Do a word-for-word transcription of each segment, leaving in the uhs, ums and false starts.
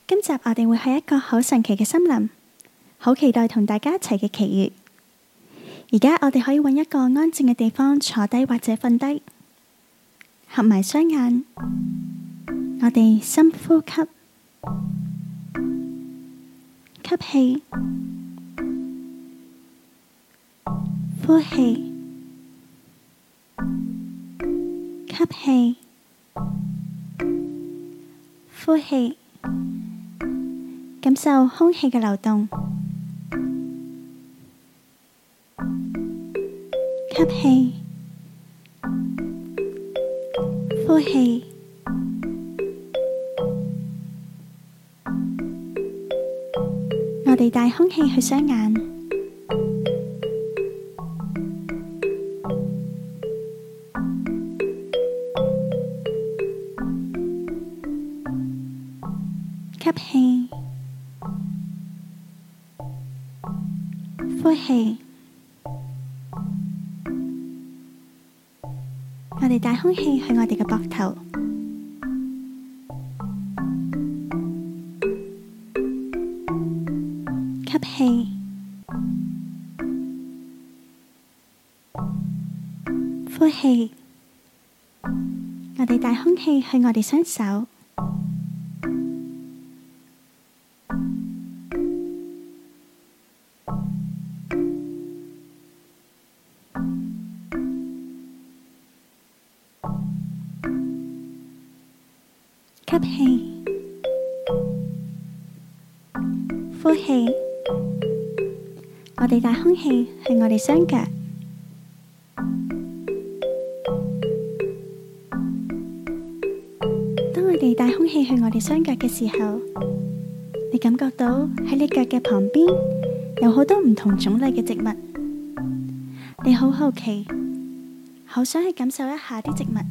今集我哋會去一個好神奇嘅森林，好期待同大家一齊嘅奇遇。而家我哋可以揾一個安靜嘅地方坐低或者瞓低，合埋雙眼，我哋深呼吸，吸氣，呼氣，吸氣，呼氣，感受空氣嘅流動。吸氣，呼氣，我哋帶空氣去雙眼，吸氣，呼氣。我哋帶空氣去我哋嘅膊頭，吸氣，呼氣。我哋帶空氣去我哋雙手，吸氣，呼氣。我哋帶空氣去我哋雙腳，當我哋帶空氣去我哋雙腳嘅時候，你感覺到喺你腳嘅旁邊有好多唔同種類嘅植物，你好好奇，好想去感受一下啲植物。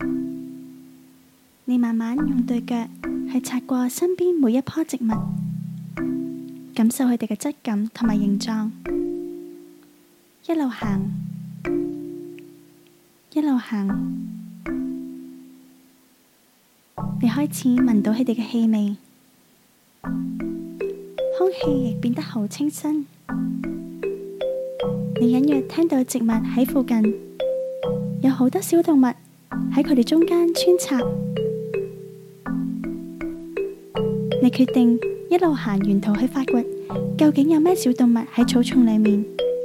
你慢慢用對腳去擦過身邊每一棵植物，感受佢哋嘅質感同埋形狀。一路行，一路行，你開始聞到佢哋嘅氣味，空氣亦變得好清新。你隱約聽到植物喺附近，有好多小動物喺佢哋中間穿插。你決定一路行沿途去發掘，究竟有咩小動物喺草叢裏面。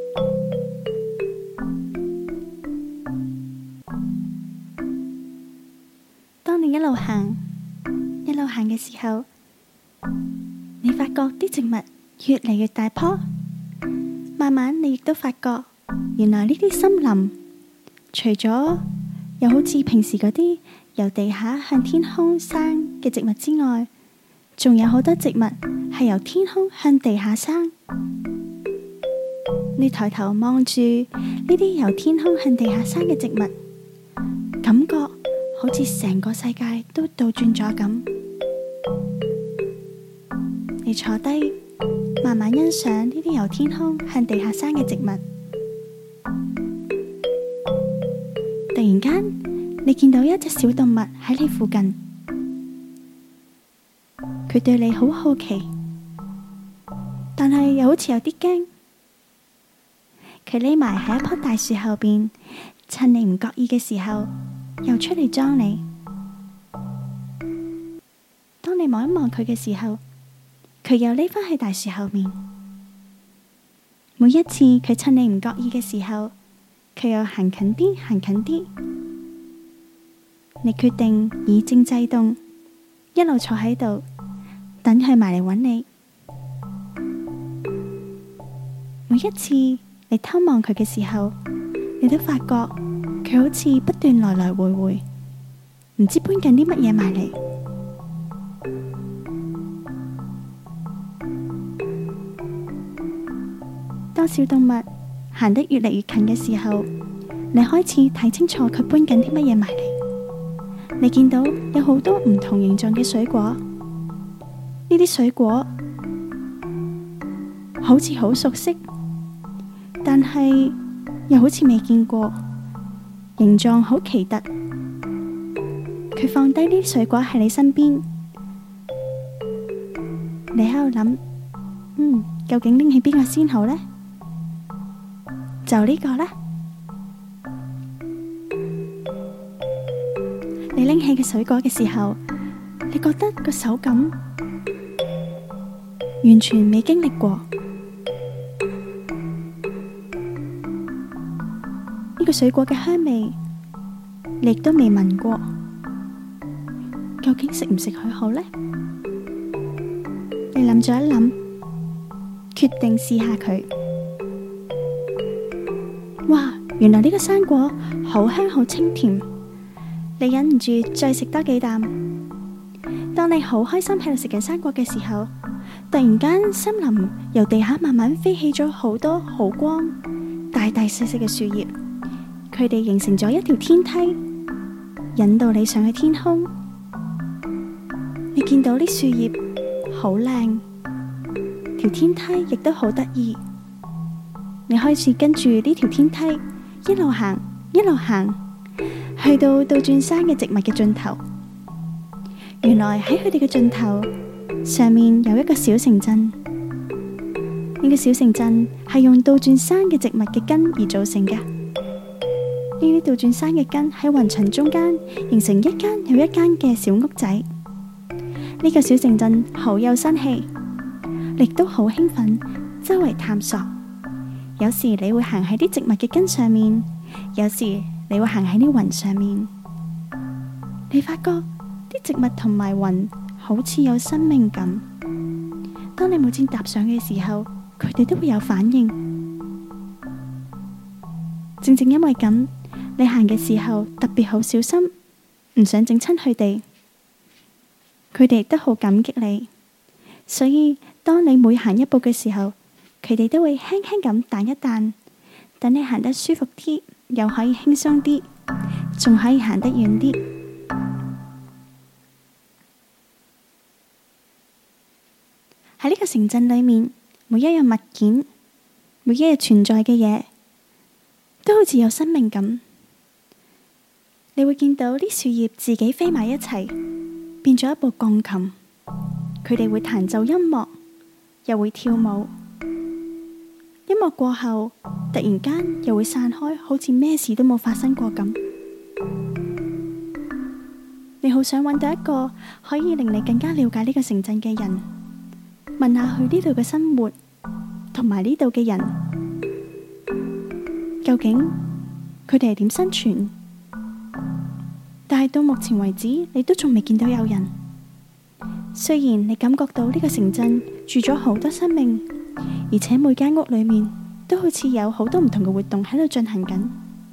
當你一路行，一路行嘅時候，你發覺啲植物越嚟越大棵，慢慢你亦都發覺，原來呢啲森林除咗有好似平時嗰啲由地下向天空生嘅植物之外，仲有好多植物係由天空向地下生。你抬頭望住呢啲由天空向地下生嘅植物，感覺好似成個世界都倒轉咗咁。你坐低，慢慢欣賞呢啲由天空向地下生嘅植物。突然間，你見到一隻小動物喺你附近。佢對你好好奇，但係又好似有啲驚。佢匿埋喺一棵大樹後邊，趁你唔覺意嘅時候，又出嚟裝你。當你望一望佢嘅時候，佢又匿返去大樹後面。每一次佢趁你唔覺意嘅時候，佢又行近啲，行近啲。你決定以靜制動，一路坐喺度。等佢埋嚟揾你。每一次你偷望佢嘅時候，你都發覺佢好似不斷來來回回，唔知搬緊啲乜嘢埋嚟。當小動物行得越嚟越近嘅時候，你開始睇清楚佢搬緊啲乜嘢埋嚟。你見到有好多唔同形狀嘅水果。呢啲水果好似好熟悉，但係又好似未見過，形狀好奇特。佢放低呢啲水果喺你身邊， 諗，嗯，究竟拎起邊個先好呢？就呢個啦。你拎起嘅水果嘅時候，你覺得個手感完全未經歷過，呢個水果嘅香味你亦都未聞過，究竟食唔食佢好呢？你諗咗一諗，決定試下佢。哇，原來呢個生果好香好清甜，你忍唔住再食多幾啖。當你好開心喺度食緊生果嘅時候，突然間森林由地下慢慢飛起咗好多好光大大細細嘅樹葉，佢哋形成咗一條天梯，引導你上去天空。你見到啲樹葉好靚，條天梯亦都好得意。你開始跟住呢條天梯一路行一路行，去到倒轉山嘅植物嘅盡頭。原來喺佢哋嘅盡頭上面有一個小城鎮。呢個小城鎮係用倒轉山嘅植物嘅根而組成嘅。呢啲倒轉山嘅根喺雲層中間形成一間又一間嘅小屋仔。呢個小城鎮好有生氣，亦都好興奮，周圍探索。有時你會行喺啲植物嘅根上面，有時你會行喺啲雲上面。你發覺啲植物同埋雲好似有生命感。當你每次踏上嘅時候，佢哋都會有反應。正正因為咁，你行嘅時候特別好小心，唔想整親佢哋。佢哋亦都好感激你，所以當你每行一步嘅時候，佢哋都會輕輕咁彈一彈，等你行得舒服啲，又可以輕鬆啲，仲可以行得遠啲。喺呢個城鎮裏面，每一樣物件，每一日存在嘅嘢，都好似有生命咁。你會見到啲樹葉自己飛埋一齊，變咗一部鋼琴。佢哋會彈奏音樂，又會跳舞。音樂過後，突然間又會散開，好似咩事都冇發生過咁。你好想揾到一個可以令你更加了解呢個城鎮嘅人，問下佢呢度嘅生活同埋呢度嘅人，究竟佢哋係點生存？但係到目前為止，你都仲未見到有人。雖然你感覺到呢個城鎮住咗好多生命，而且每間屋裏面都好似有好多唔同嘅活動喺度進行緊。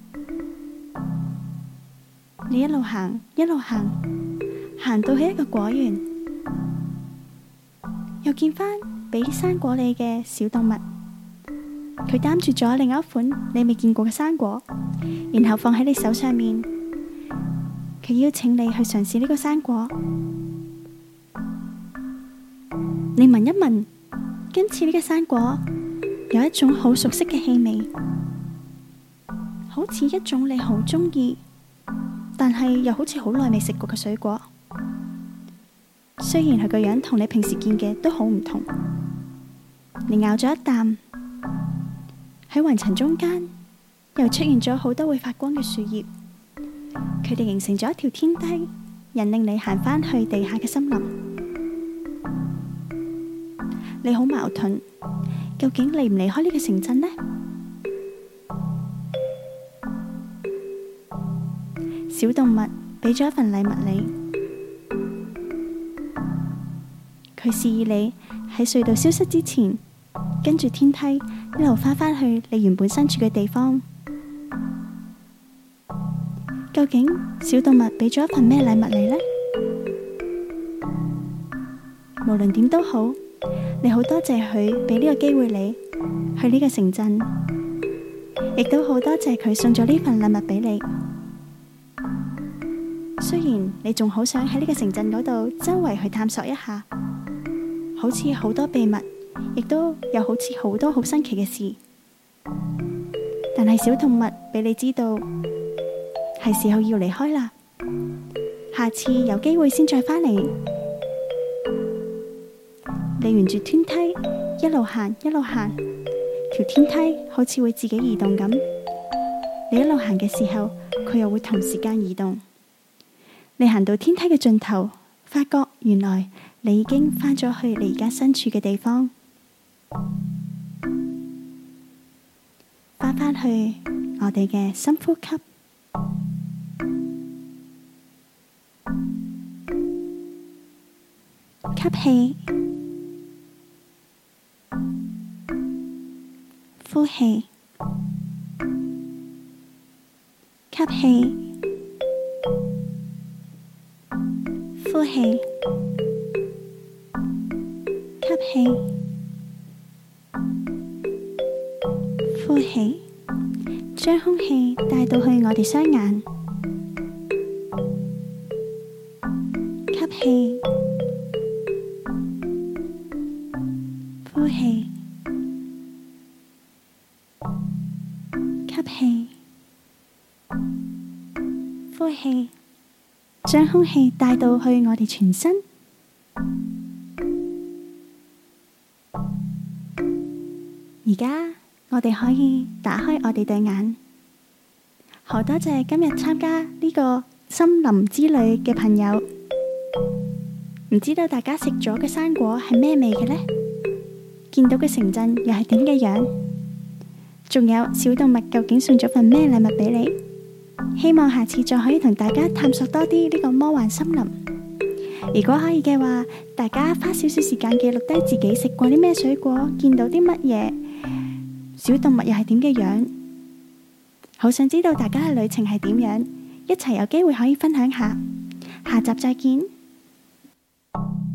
你一路行，一路行，行到去一個果園，又見返俾生果你嘅小動物，佢擔住咗另一款你未見過嘅生果，然後放喺你手上面。佢邀請你去嘗試呢個生果。你聞一聞，今次呢個生果有一種好熟悉嘅氣味，好似一種你好鍾意，但係又好似好耐未食過嘅水果。雖然佢個樣同你平時見嘅都好唔同。你咬咗一啖，喺雲層中間又出現咗好多會發光嘅樹葉，佢哋形成咗一條天梯，引領你行返去地下嘅森林。你好矛盾，究竟離唔離開呢個城鎮呢？小動物俾咗一份禮物你，佢示意你喺隧道消失之前，跟住天梯一路返返去你原本身處嘅地方。究竟小動物俾咗一份咩禮物你呢？無論點都好，你好多謝佢俾呢個機會你去呢個城鎮，亦都好多謝佢送咗呢份禮物俾你。雖然你仲好想喺呢個城鎮嗰度周圍去探索一下，好似好多秘密，亦都有好似好多好新奇嘅事，但係小動物俾你知道係時候要離開啦。下次有機會先再返嚟。 你沿住天梯一路行一路行，條天梯好似會自己移動咁。你一路行嘅時候，佢又會同時間移動。你行到天梯嘅盡頭，發覺原來你已經返咗去你而家身處嘅地方。返返去我哋嘅深呼吸，吸氣，呼氣，吸氣，呼氣，吸氣，呼氣，將空氣帶到去我哋雙眼，吸氣，呼氣，吸氣，呼氣，將空氣帶到去我哋全身。而家我哋可以打開我哋對眼。好多謝今日參加呢個森林之旅嘅朋友。唔知道大家食咗嘅生果係咩味嘅呢？見到嘅城鎮又係點嘅樣？仲有小動物究竟送咗份咩禮物俾你？希望下次再可以同大家探索多啲呢個魔幻森林。如果可以嘅話，大家花少少時間記錄低自己食過啲咩水果，見到啲乜嘢小動物又係點嘅樣？好想知道大家嘅旅程係點樣，一齊有機會可以分享下。下集再見。